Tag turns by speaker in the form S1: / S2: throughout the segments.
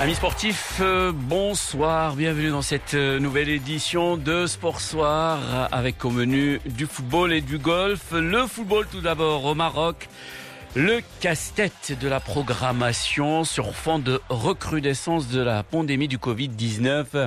S1: Amis sportifs, bonsoir, bienvenue dans cette nouvelle édition de Sport Soir avec au menu du football et du golf. Le football tout d'abord au Maroc, le casse-tête de la programmation sur fond de recrudescence de la pandémie du Covid-19.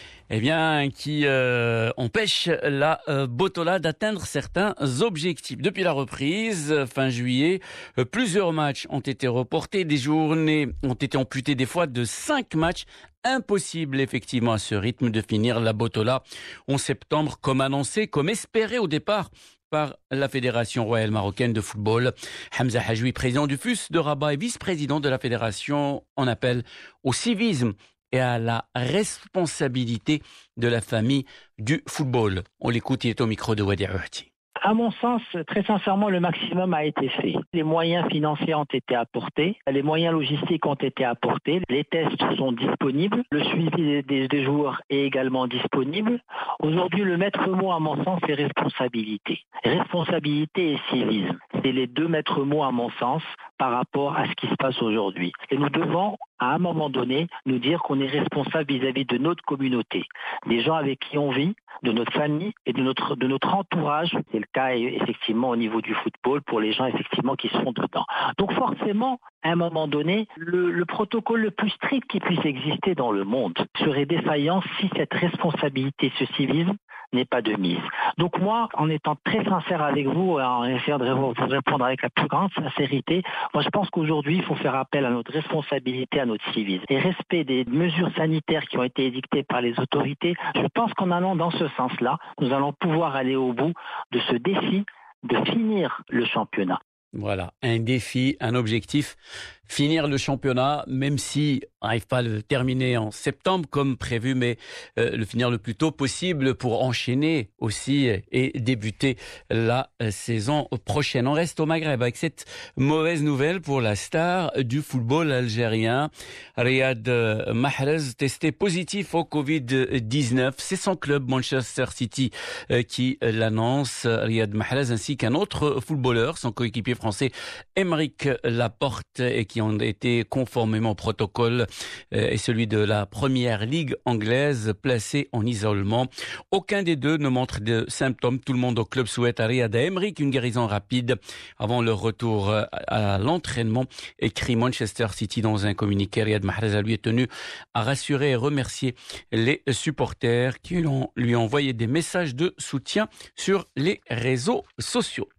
S1: Qui empêche la Botola d'atteindre certains objectifs. Depuis la reprise, fin juillet, plusieurs matchs ont été reportés, des journées ont été amputées des fois de 5 matchs. Impossible effectivement à ce rythme de finir la Botola en septembre comme annoncé, comme espéré au départ par la Fédération royale marocaine de football. Hamza Hajoui, président du FUS de Rabat et vice-président de la Fédération, en appelle au civisme et à la responsabilité de la famille du football. On l'écoute, il est au micro de Wadi Rouhti.
S2: À mon sens, très sincèrement, le maximum a été fait. Les moyens financiers ont été apportés, les moyens logistiques ont été apportés, les tests sont disponibles, le suivi des joueurs est également disponible. Aujourd'hui, le maître mot, à mon sens, c'est responsabilité. Responsabilité et civisme. C'est les deux maîtres mots, à mon sens, par rapport à ce qui se passe aujourd'hui. Et nous devons, à un moment donné, nous dire qu'on est responsable vis-à-vis de notre communauté, des gens avec qui on vit, de notre famille et de notre entourage. C'est le cas effectivement au niveau du football pour les gens effectivement qui sont dedans. Donc forcément, à un moment donné, le protocole le plus strict qui puisse exister dans le monde serait défaillant si cette responsabilité, ce civisme, n'est pas de mise. Donc moi, en étant très sincère avec vous, en essayant de vous répondre avec la plus grande sincérité, moi je pense qu'aujourd'hui, il faut faire appel à notre responsabilité, à notre civisme. Et respect des mesures sanitaires qui ont été édictées par les autorités, je pense qu'en allant dans ce sens-là, nous allons pouvoir aller au bout de ce défi de finir le championnat.
S1: Voilà, un défi, un objectif, finir le championnat, même si on n'arrive pas à le terminer en septembre comme prévu, mais le finir le plus tôt possible pour enchaîner aussi et débuter la saison prochaine. On reste au Maghreb avec cette mauvaise nouvelle pour la star du football algérien, Riyad Mahrez, testé positif au Covid-19. C'est son club Manchester City qui l'annonce, Riyad Mahrez, ainsi qu'un autre footballeur, son coéquipier français Aymeric Laporte, et qui ont été conformément au protocole et celui de la première ligue anglaise, placés en isolement. Aucun des deux ne montre de symptômes. Tout le monde au club souhaite à Riyad et Aymeric une guérison rapide avant leur retour à l'entraînement, écrit Manchester City dans un communiqué. Riyad Mahrez lui est tenu à rassurer et remercier les supporters qui lui ont envoyé des messages de soutien sur les réseaux sociaux.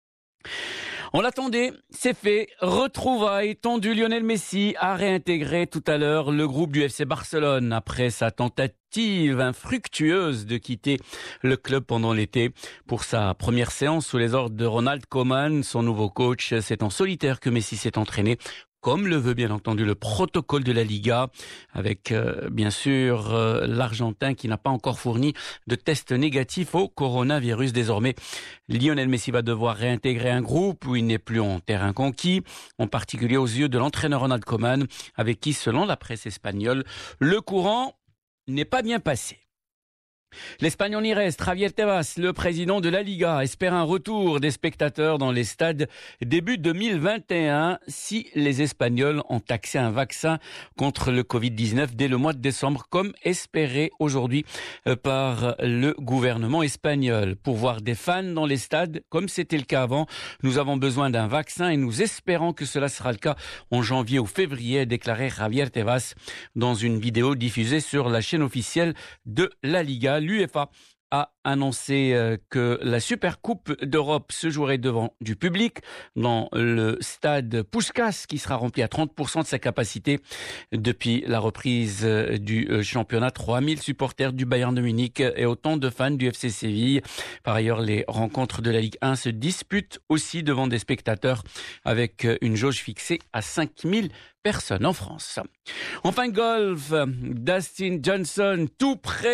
S1: On l'attendait, c'est fait. Retrouvailles tendu. Lionel Messi a réintégré tout à l'heure le groupe du FC Barcelone après sa tentative infructueuse de quitter le club pendant l'été. Pour sa première séance sous les ordres de Ronald Koeman, son nouveau coach, c'est en solitaire que Messi s'est entraîné, comme le veut bien entendu le protocole de la Liga, avec bien sûr l'Argentin qui n'a pas encore fourni de test négatif au coronavirus. Désormais, Lionel Messi va devoir réintégrer un groupe où il n'est plus en terrain conquis, en particulier aux yeux de l'entraîneur Ronald Koeman, avec qui, selon la presse espagnole, le courant n'est pas bien passé. L'Espagnol y reste. Javier Tebas, le président de la Liga, espère un retour des spectateurs dans les stades début 2021 si les Espagnols ont accès à un vaccin contre le Covid-19 dès le mois de décembre, comme espéré aujourd'hui par le gouvernement espagnol. Pour voir des fans dans les stades, comme c'était le cas avant, nous avons besoin d'un vaccin et nous espérons que cela sera le cas en janvier ou février, a déclaré Javier Tebas dans une vidéo diffusée sur la chaîne officielle de la Liga. L'UEFA a annoncé que la Supercoupe d'Europe se jouerait devant du public dans le stade Puskás, qui sera rempli à 30% de sa capacité depuis la reprise du championnat. 3000 supporters du Bayern de Munich et autant de fans du FC Séville. Par ailleurs, les rencontres de la Ligue 1 se disputent aussi devant des spectateurs avec une jauge fixée à 5000 personnes en France. Enfin, golf, Dustin Johnson, tout prêt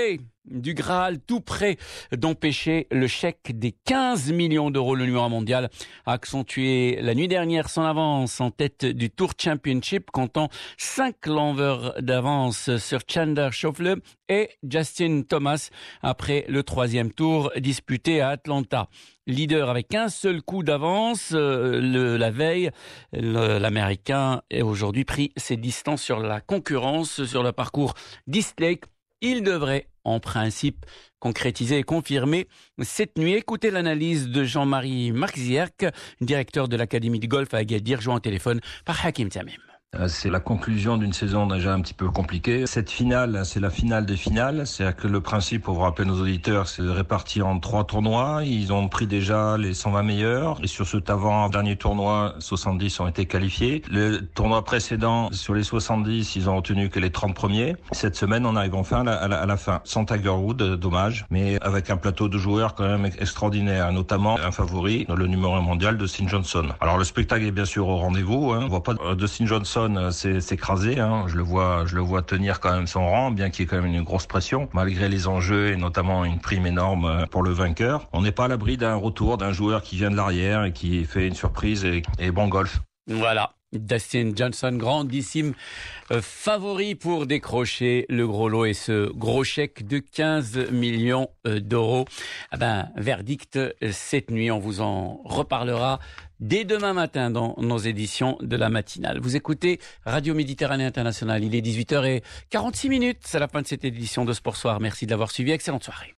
S1: du Graal, tout près d'empêcher le chèque des 15 millions d'euros. Le numéro mondial a accentué la nuit dernière son avance en tête du Tour Championship, comptant 5 lovers d'avance sur Chandler Schauffele et Justin Thomas après le 3e tour disputé à Atlanta. Leader avec un seul coup d'avance, la veille, l'Américain a aujourd'hui pris ses distances sur la concurrence sur le parcours d'East Lake. Il devrait, en principe, concrétiser et confirmer cette nuit. Écoutez l'analyse de Jean-Marie Marxiac, directeur de l'Académie de golf à Agadir, joint au téléphone par Hakim Tamim.
S3: C'est la conclusion d'une saison déjà un petit peu compliquée. Cette finale, c'est la finale des finales. C'est-à-dire que le principe, pour vous rappeler nos auditeurs, c'est de répartir en 3 tournois. Ils ont pris déjà les 120 meilleurs. Et sur cet avant-dernier tournoi, 70 ont été qualifiés. Le tournoi précédent, sur les 70, ils ont retenu que les 30 premiers. Cette semaine, on arrive enfin à la fin. Sans Tiger Woods, dommage, mais avec un plateau de joueurs quand même extraordinaire, notamment un favori, le numéro 1 mondial, Dustin Johnson. Alors le spectacle est bien sûr au rendez-vous. On voit pas Dustin Johnson s'écraser, je le vois tenir quand même son rang, bien qu'il y ait quand même une grosse pression, malgré les enjeux et notamment une prime énorme pour le vainqueur. On n'est pas à l'abri d'un retour d'un joueur qui vient de l'arrière et qui fait une surprise et bon golf.
S1: Voilà. Dustin Johnson, grandissime favori pour décrocher le gros lot et ce gros chèque de 15 millions d'euros. Verdict cette nuit, on vous en reparlera dès demain matin dans nos éditions de la matinale. Vous écoutez Radio Méditerranée Internationale, il est 18h46, c'est la fin de cette édition de Sport Soir. Merci de l'avoir suivi, excellente soirée.